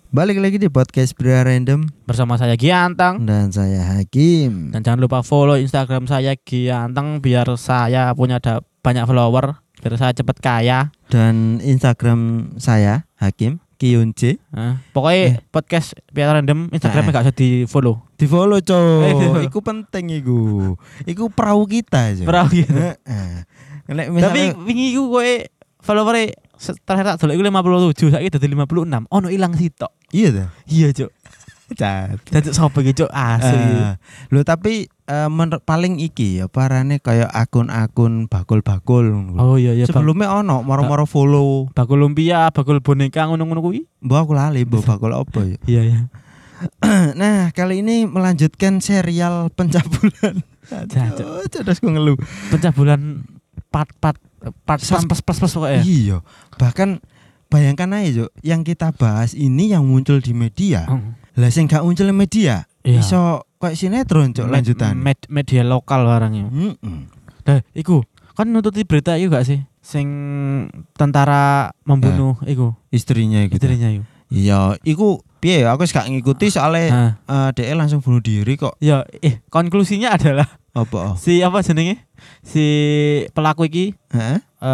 Balik lagi di podcast Pria Random Bersama saya Giantang. dan saya Hakim. Dan jangan lupa follow Instagram saya Giantang biar saya punya banyak follower, biar saya cepat kaya. Dan Instagram saya Hakim Kiyunce. Pokoknya podcast Pria Random Instagramnya gak usah di follow. Di follow cow. Iku penting iku. Iku perahu kita aja. Perahu gitu. Misalnya, Tapi wingi iku kowe followernya terakhir tak dolek iku 57, saiki dadi 56. Ono ilang sitok. iya dah. Iya, Cuk. Cat. Dadi sapa iki, Cuk? Asli. Loh tapi paling iki ya parane kayak akun-akun bakul-bakul. Oh iya iya. Sebelumnya ono moro-moro follow. Bakul lumpia, bakul boneka ngono-ngono kuwi. Mbak aku lali mbak bakul apa ya. Iya iya. Nah kali ini melanjutkan serial pencabulan. Aduh, Cerdas gue ngeluh. Pencabulan part plus pokoknya. Iya. Bahkan bayangkan aja Cuk, yang kita bahas ini yang muncul di media. Lah sing gak muncul di media, Iya. iso kayak sinetron Cuk lanjutan. Media lokal barangnya. Nah, iku kan nututi berita iku gak sih? Sing tentara membunuh iku Istrinya gitu. istrinya iku. Iya, iku piye ya, aku gak ngikuti soalnya DE langsung bunuh diri kok. Ya, konklusinya adalah Apa? si apa jenenge? Si pelaku iki Heeh.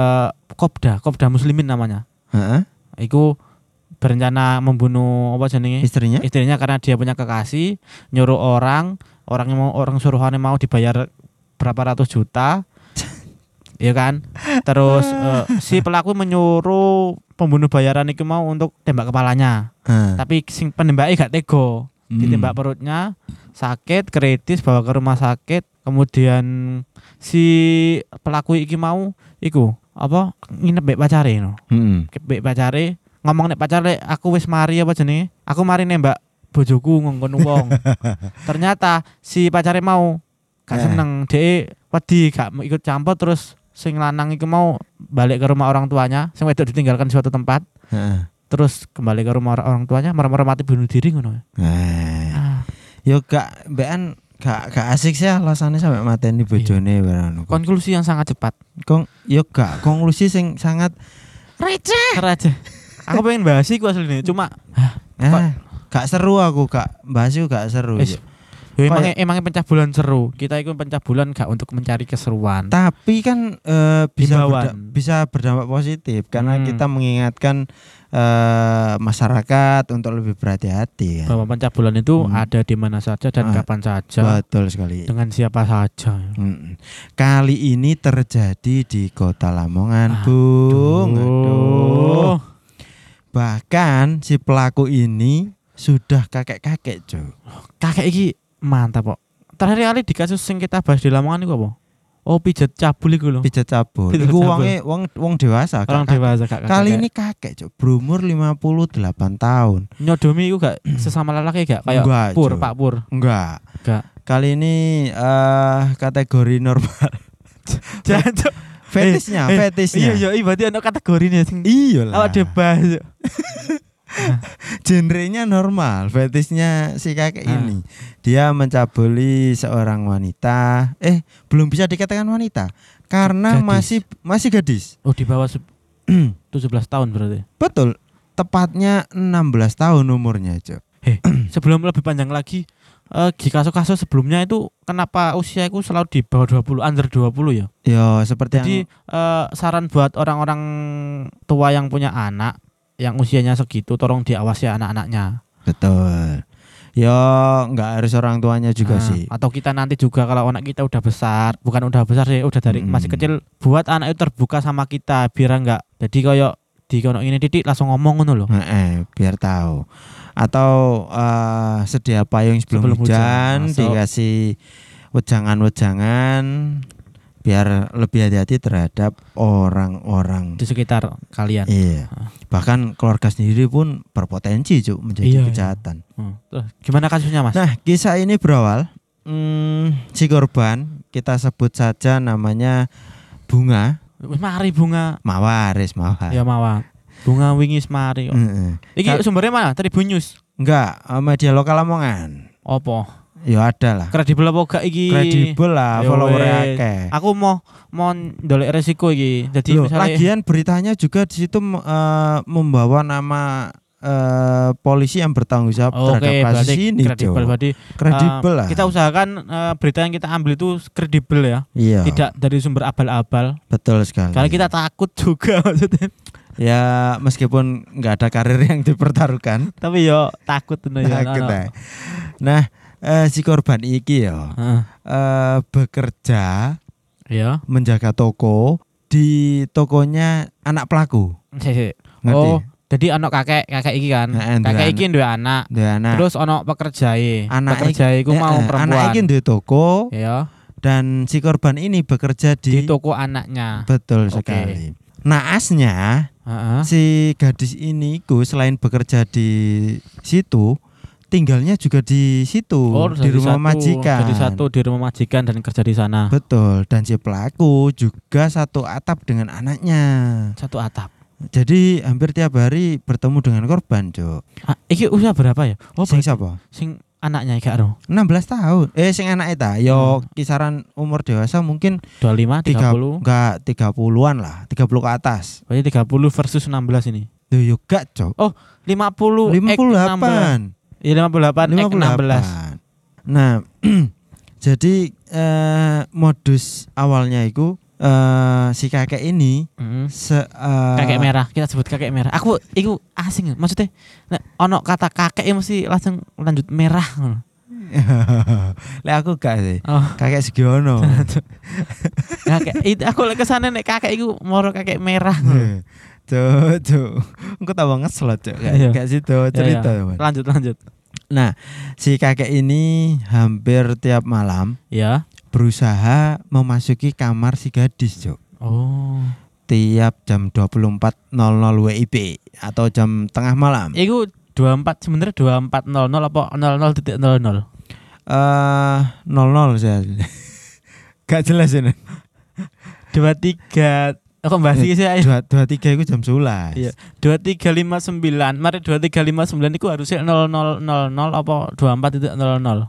Kopda Muslimin namanya. Heeh. Iku berencana membunuh apa jenenge? Istrinya? Istrinya karena dia punya kekasih, nyuruh orang suruhannya mau dibayar berapa ratus juta. Iya kan? Terus si pelaku menyuruh pembunuh bayaran itu mau untuk tembak kepalanya. Tapi sing penembaknya gak tego. Ditembak perutnya, sakit, kritis, bawa ke rumah sakit. Kemudian si pelaku iki mau iku apa nginep mbek pacare no. Mbek pacare ngomong nek pacare aku wis mari apa jenenge? Aku mari nembak bojoku ngongkon wong. Ternyata si pacare mau gak seneng, dhek wedi gak ikut campur terus sing lanang iku mau balik ke rumah orang tuanya, sing wedok ditinggalkan di suatu tempat. Terus kembali ke rumah orang tuanya, marah-marah mati bunuh diri ngono. Yo gak mbekan gak asik sih alasannya sampai mateni bojone barang. Konklusi yang sangat cepat. Yo gak konklusi sing sangat receh. Aku pengen bahas iku asline, cuma gak seru aku, gak bahas iku gak seru. Emangnya pencabulan seru. Kita itu pencabulan gak untuk mencari keseruan. Tapi kan bisa berdampak positif karena kita mengingatkan masyarakat untuk lebih berhati-hati kan? Bahwa pencabulan itu ada di mana saja dan kapan saja. Betul sekali. Dengan siapa saja. Kali ini terjadi di Kota Lamongan, Bung. Aduh. Bahkan si pelaku ini sudah kakek-kakek, Cuk. Kakek iki mantap kok. Terakhir kali di kasus yang kita bahas di Lamongan itu apa? Oh, pijat cabul iku lho. Pijat cabul. Iku wong dewasa. Orang dewasa kakek. Kali ini kakek, Cuk, berumur 58 tahun. Nyodomi iku gak sesama lelaki gak kayak enggak, Pak Pur. Enggak. Kali ini kategori normal. Jancuk. Fetisnya. Iya, berarti ana kategorine sing. Iya lah. Awak debas. Genrenya normal, fetisnya si kakek ini. Dia mencabuli seorang wanita. Belum bisa dikatakan wanita karena gadis. masih gadis. Oh, di bawah 17 tahun berarti. Betul. Tepatnya 16 tahun umurnya, Cok. Sebelum lebih panjang lagi, di kasus-kasus sebelumnya itu kenapa usia itu selalu di bawah 20, under 20 ya? Ya, seperti jadi saran buat orang-orang tua yang punya anak yang usianya segitu, tolong diawasi anak-anaknya. Betul. Ya nggak harus orang tuanya juga sih. Atau kita nanti juga kalau anak kita udah besar, bukan udah besar sih, udah dari masih kecil, buat anak itu terbuka sama kita biar enggak. Jadi kayak di kono ini titik langsung ngomong ngono loh. Biar tahu. Atau sedia payung sebelum hujan, dikasih wejangan-wejangan biar lebih hati-hati terhadap orang-orang di sekitar kalian. Iya. Bahkan keluarga sendiri pun berpotensi Cuk menjadi kejahatan. Gimana kasusnya, Mas? Nah, kisah ini berawal si korban kita sebut saja namanya Bunga. Mari Bunga. Mawar. Ya Mawar. Bunga wingis mari kok. Iki sumbernya mana? Tribun News. Enggak, media lokal Lamongan. Apa? Ya ada lah. Kredibel apa gak iki? Kredibel lah, follower-e akeh. Aku mau ndolek resiko iki. Jadi misalnya misalnya lagian beritanya juga di situ membawa nama polisi yang bertanggung jawab terhadap kasus berarti ini, kredibel. Cok. Berarti Kredibel lah. kita usahakan berita yang kita ambil itu kredibel ya. Iya. Tidak dari sumber abal-abal. Betul sekali. Karena kita takut juga maksudnya. Ya meskipun nggak ada karir yang dipertaruhkan, Tapi yo takut tuh ya. takut ae. Nah, si korban iki ya Heeh. bekerja Ya. menjaga toko di tokonya anak pelaku. Ngerti? Oh, jadi anak kakek iki kan. Heeh, duwe Kakek anak. iki duwe anak. Duwe anak. Terus ono pekerjae. Anak Pekerjae iku mau anak perempuan. iki duwe toko Ya, dan si korban ini bekerja di di toko anaknya. betul Oke. sekali. Naasnya Heeh. si gadis ini ku selain bekerja di situ, tinggalnya juga di situ di jadi rumah satu, majikan. Jadi satu di rumah majikan dan kerja di sana. Betul, dan si pelaku juga satu atap dengan anaknya. Satu atap. Jadi hampir tiap hari bertemu dengan korban, Cok. Iki usia berapa ya? Oh, Sing berarti siapa? sing anaknya gak ro. 16 tahun. Sing anak eta yo kisaran umur dewasa mungkin 25, 30. enggak 30-an lah, 30 ke atas. Berarti 30 versus 16 ini. Loh yo gak, Cok. 50 58. Iya 58 ek 16. Nah, jadi modus awalnya itu si kakek ini Kakek merah, kita sebut kakek merah. Aku iku asing maksudnya. Nek ono kata kakek ya mesti langsung lanjut merah ngono. Lek aku gak sih. Oh, Kakek Sugiono. kakek itu aku lek kesana nek kakek iku moro kakek merah. Cuk. Engko tambah ngeslot, Cuk. Iya. Kayak situ cerita, Ya, ya. Mas. Lanjut. Nah, si kakek ini hampir tiap malam Ya. berusaha memasuki kamar si gadis, Cuk. Oh. Tiap jam 24.00 WIB atau jam tengah malam. Iku 24 sebenarnya 24.00 apa 00.00. 00 saya. Gak jelas ini. 23 aku bahas iki sih ayo. 23 itu jam 11. Iya. 2359. Mari 2359 iku harusnya 00.00 apa 24.00.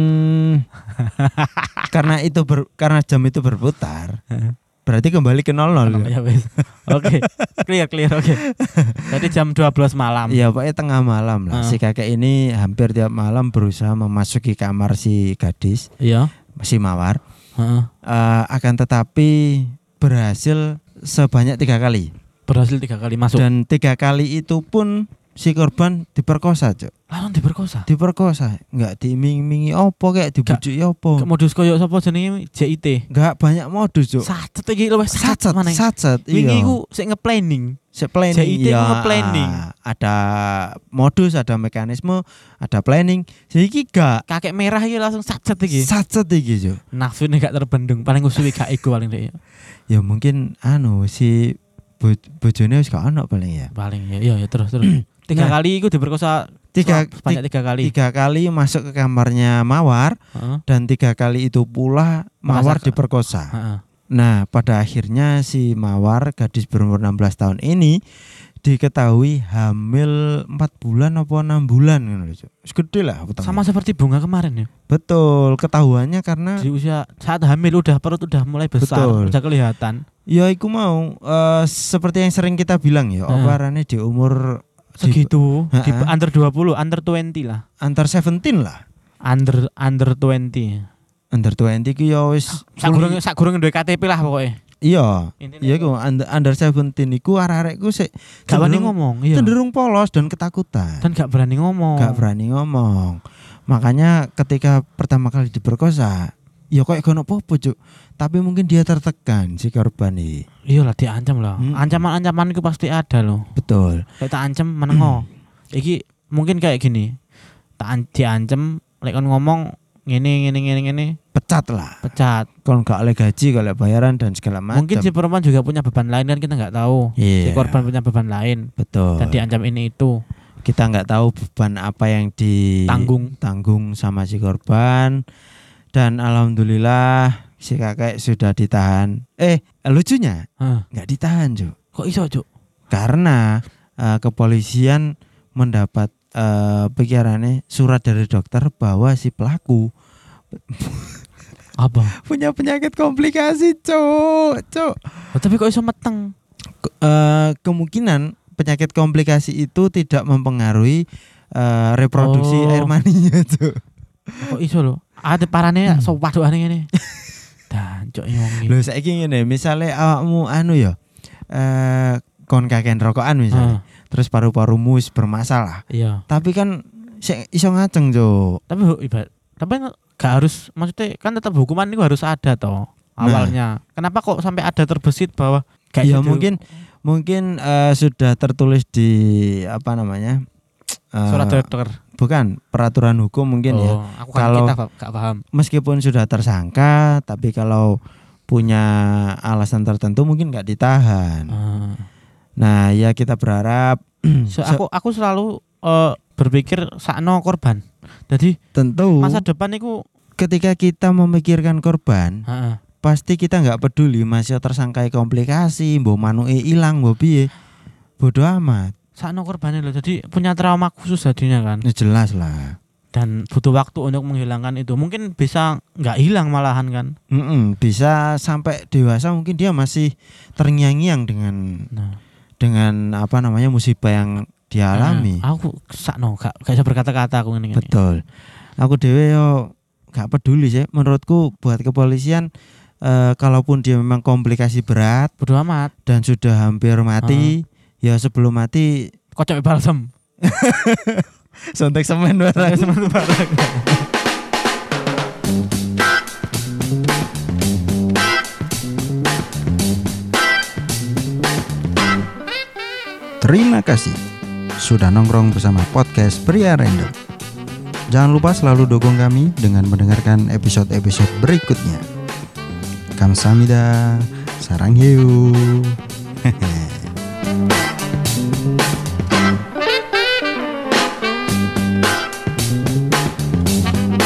Karena jam itu berputar. Berarti kembali ke 00. Ya wes. Oke. Clear oke. Jadi jam 12 malam. Iya, pokoknya tengah malam lah. Si kakek ini hampir tiap malam berusaha memasuki kamar si gadis, Iya. si Mawar. Heeh. Akan tetapi berhasil sebanyak 3 kali. Berhasil 3 kali masuk. Dan 3 kali itu pun si korban diperkosa, Cuk. Langsung diperkosa. Diperkosa, enggak diiming-imingi opo kayak dibujuki opo. Modus koyo sapa jenenge JIT. Enggak banyak modus, Cuk. Sacet iki lho wis Sacet, maneh. sacet. Wingi Iya. iku sik nge-planning. Planning, JIT ya, nge-planning. ada modus, ada mekanisme, ada planning. Jadi gak Kakek merah iki langsung sacet iki. sacet iki, Cuk. Nafsune gak terbendung, paling usuwi gak iku paling dek. Ya mungkin si bojone wis gak ono paling ya. Paling ya terus. 3 Nah. kali iku diperkosa banyak 3 kali. 3 kali masuk ke kamarnya Mawar Heeh. dan 3 kali itu pula Mawar diperkosa. Heeh. Nah, pada akhirnya si Mawar, gadis berumur 16 tahun ini diketahui hamil 4 bulan apa 6 bulan ngono lho, Cuk. Wis gede lah utangnya. Sama seperti bunga kemarin ya. Betul, ketahuannya karena Di usia saat hamil perut udah mulai besar, Betul. udah kelihatan. ya iku mau seperti yang sering kita bilang ya, apa arane di umur Segitu, di Heeh. under 20, under 20 lah. antar 17 lah. Under 20. Under 20 ku ya wis Sak gurung duwe KTP lah pokoknya. iya. Intinya Iya iku under 17 iku arek-arek ku sik gak berani cenderung- ngomong, iya. cenderung polos dan ketakutan. Dan gak berani ngomong. Gak berani ngomong. Makanya ketika pertama kali diperkosa, ya kok gak ono apa-apa, Cuk. Tapi mungkin dia tertekan si korban ini. Iyalah diancam lah. Hmm. Ancaman-ancaman itu pasti ada loh. Betul. Kayak tak ancam menengo. Iki mungkin kayak gini. Diancam lek kon ngomong ngene Pecat lah. pecat. Kalau nggak oleh gaji, kalau bayaran dan segala macam. Mungkin si perempuan juga punya beban lain kan kita nggak tahu. Si Iya. korban punya beban lain Betul. dan diancam ini itu. Kita nggak tahu beban apa yang ditanggung sama si korban. Dan alhamdulillah si kakek sudah ditahan. Lucunya Hah. nggak ditahan, Cuk. Kok iso, Cuk? Karena kepolisian mendapat pikirannya surat dari dokter bahwa si pelaku Apa? punya penyakit komplikasi, Cuk. Oh, tapi kok iso meteng? Kemungkinan penyakit komplikasi itu tidak mempengaruhi reproduksi air maninya tuh. Kok iso lho? Ada parane sok waduhane ngene. Dancuk wong iki. Lho saiki ngene, misale awakmu anu ya kon kakean rokokan misalnya. Terus paru-parumu bermasalah. Iya. Tapi kan iso ngaceng, Cuk. Tapi gak harus, maksudnya kan tetap hukuman itu harus ada toh awalnya. Kenapa kok sampai ada terbesit bahwa ya mungkin sudah tertulis di apa namanya? Surat dokter. Bukan, peraturan hukum mungkin ya. Aku kan kalau gak paham. Meskipun sudah tersangka, tapi kalau punya alasan tertentu mungkin gak ditahan. Nah, ya kita berharap aku selalu berpikir sakno korban. Jadi tentu masa depan itu ketika kita memikirkan korban, pasti kita nggak peduli masih tersangkai komplikasi, mbok manuke ilang, mbok piye. Bodoh amat. Sakno korbannya loh. Jadi punya trauma khusus jadinya kan. Ya jelas lah. Dan butuh waktu untuk menghilangkan itu. Mungkin bisa nggak hilang malahan kan. Bisa sampai dewasa mungkin dia masih terngiang-ngiang dengan apa namanya musibah yang dialami. Aku sakno gak bisa berkata-kata aku ngene. Betul. Aku dhewe yo gak peduli sih. Menurutku buat kepolisian kalaupun dia memang komplikasi berat, bodo amat dan sudah hampir mati, ya sebelum mati kocok balsem. Sontek semen barang. Terima kasih sudah nongkrong bersama podcast Pria Random. Jangan lupa selalu dukung kami dengan mendengarkan episode-episode berikutnya. Kamsahamnida, sarang hiu.